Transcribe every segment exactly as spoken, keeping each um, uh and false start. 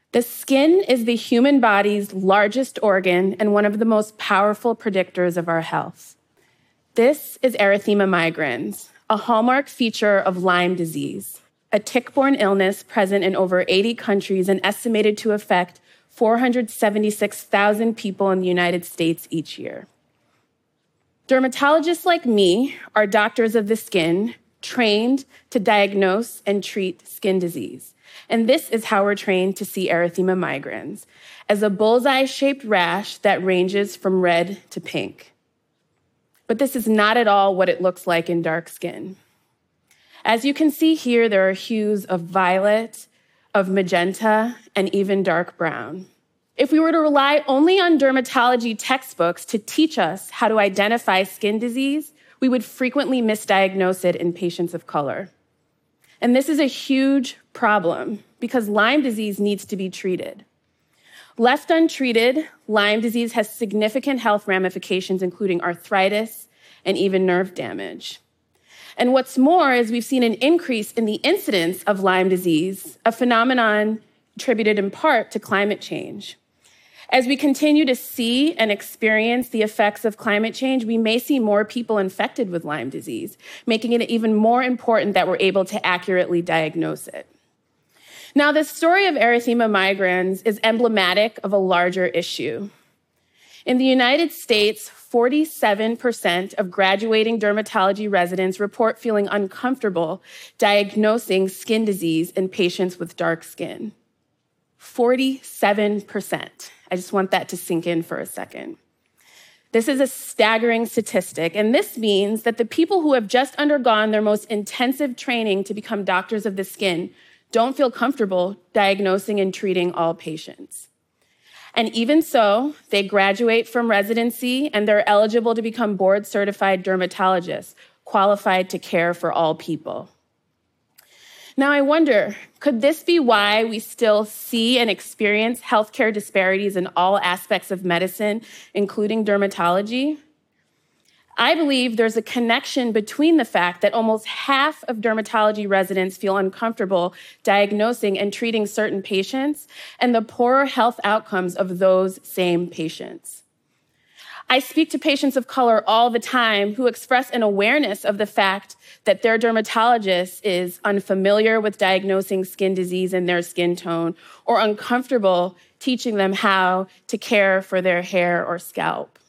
The skin is the human body's largest organ and one of the most powerful predictors of our health. This is erythema migrans, a hallmark feature of Lyme disease, a tick-borne illness present in over eighty countries and estimated to affect four hundred seventy-six thousand people in the United States each year. Dermatologists like me are doctors of the skin, trained to diagnose and treat skin disease. And this is how we're trained to see erythema migrans, as a bullseye-shaped rash that ranges from red to pink. But this is not at all what it looks like in dark skin. As you can see here, there are hues of violet, of magenta, and even dark brown. If we were to rely only on dermatology textbooks to teach us how to identify skin disease, we would frequently misdiagnose it in patients of color. And this is a huge problem because Lyme disease needs to be treated. Left untreated, Lyme disease has significant health ramifications, including arthritis and even nerve damage. And what's more is we've seen an increase in the incidence of Lyme disease, a phenomenon attributed in part to climate change. As we continue to see and experience the effects of climate change, we may see more people infected with Lyme disease, making it even more important that we're able to accurately diagnose it. Now, the story of erythema migrans is emblematic of a larger issue. In the United States, forty-seven percent of graduating dermatology residents report feeling uncomfortable diagnosing skin disease in patients with dark skin. forty-seven percent. I just want that to sink in for a second. This is a staggering statistic, and this means that the people who have just undergone their most intensive training to become doctors of the skin don't feel comfortable diagnosing and treating all patients. And even so, they graduate from residency and they're eligible to become board-certified dermatologists, qualified to care for all people. Now, I wonder, could this be why we still see and experience healthcare disparities in all aspects of medicine, including dermatology? I believe there's a connection between the fact that almost half of dermatology residents feel uncomfortable diagnosing and treating certain patients and the poorer health outcomes of those same patients. I speak to patients of color all the time who express an awareness of the fact that their dermatologist is unfamiliar with diagnosing skin disease in their skin tone or uncomfortable teaching them how to care for their hair or scalp.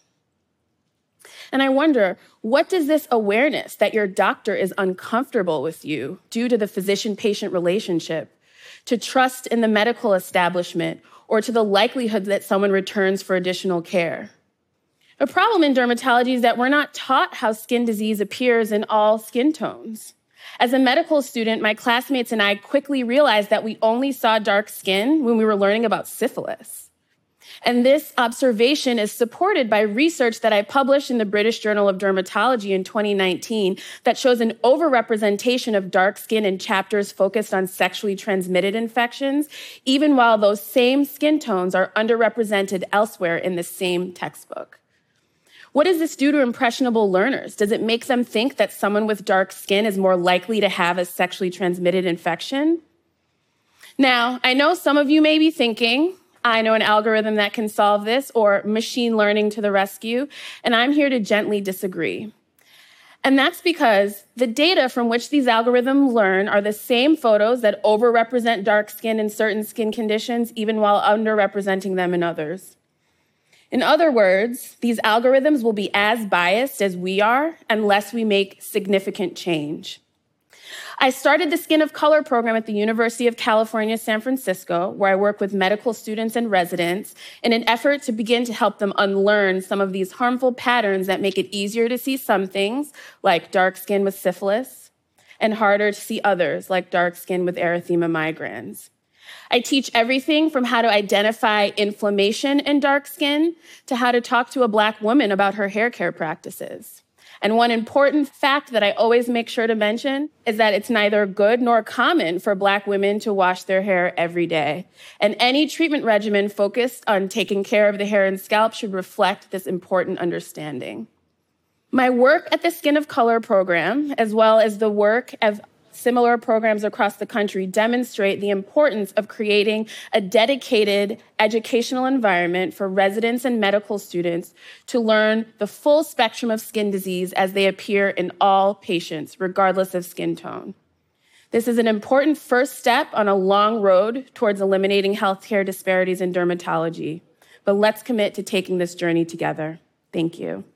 And I wonder, what does this awareness that your doctor is uncomfortable with you due to the physician-patient relationship, to trust in the medical establishment, or to the likelihood that someone returns for additional care? A problem in dermatology is that we're not taught how skin disease appears in all skin tones. As a medical student, my classmates and I quickly realized that we only saw dark skin when we were learning about syphilis. And this observation is supported by research that I published in the British Journal of Dermatology in twenty nineteen that shows an overrepresentation of dark skin in chapters focused on sexually transmitted infections, even while those same skin tones are underrepresented elsewhere in the same textbook. What does this do to impressionable learners? Does it make them think that someone with dark skin is more likely to have a sexually transmitted infection? Now, I know some of you may be thinking, I know an algorithm that can solve this, or machine learning to the rescue, and I'm here to gently disagree. And that's because the data from which these algorithms learn are the same photos that overrepresent dark skin in certain skin conditions, even while underrepresenting them in others. In other words, these algorithms will be as biased as we are unless we make significant change. I started the Skin of Color program at the University of California, San Francisco, where I work with medical students and residents in an effort to begin to help them unlearn some of these harmful patterns that make it easier to see some things, like dark skin with syphilis, and harder to see others, like dark skin with erythema migrans. I teach everything from how to identify inflammation in dark skin to how to talk to a Black woman about her hair care practices. And one important fact that I always make sure to mention is that it's neither good nor common for Black women to wash their hair every day. And any treatment regimen focused on taking care of the hair and scalp should reflect this important understanding. My work at the Skin of Color program, as well as the work of similar programs across the country demonstrate the importance of creating a dedicated educational environment for residents and medical students to learn the full spectrum of skin disease as they appear in all patients, regardless of skin tone. This is an important first step on a long road towards eliminating healthcare disparities in dermatology. But let's commit to taking this journey together. Thank you.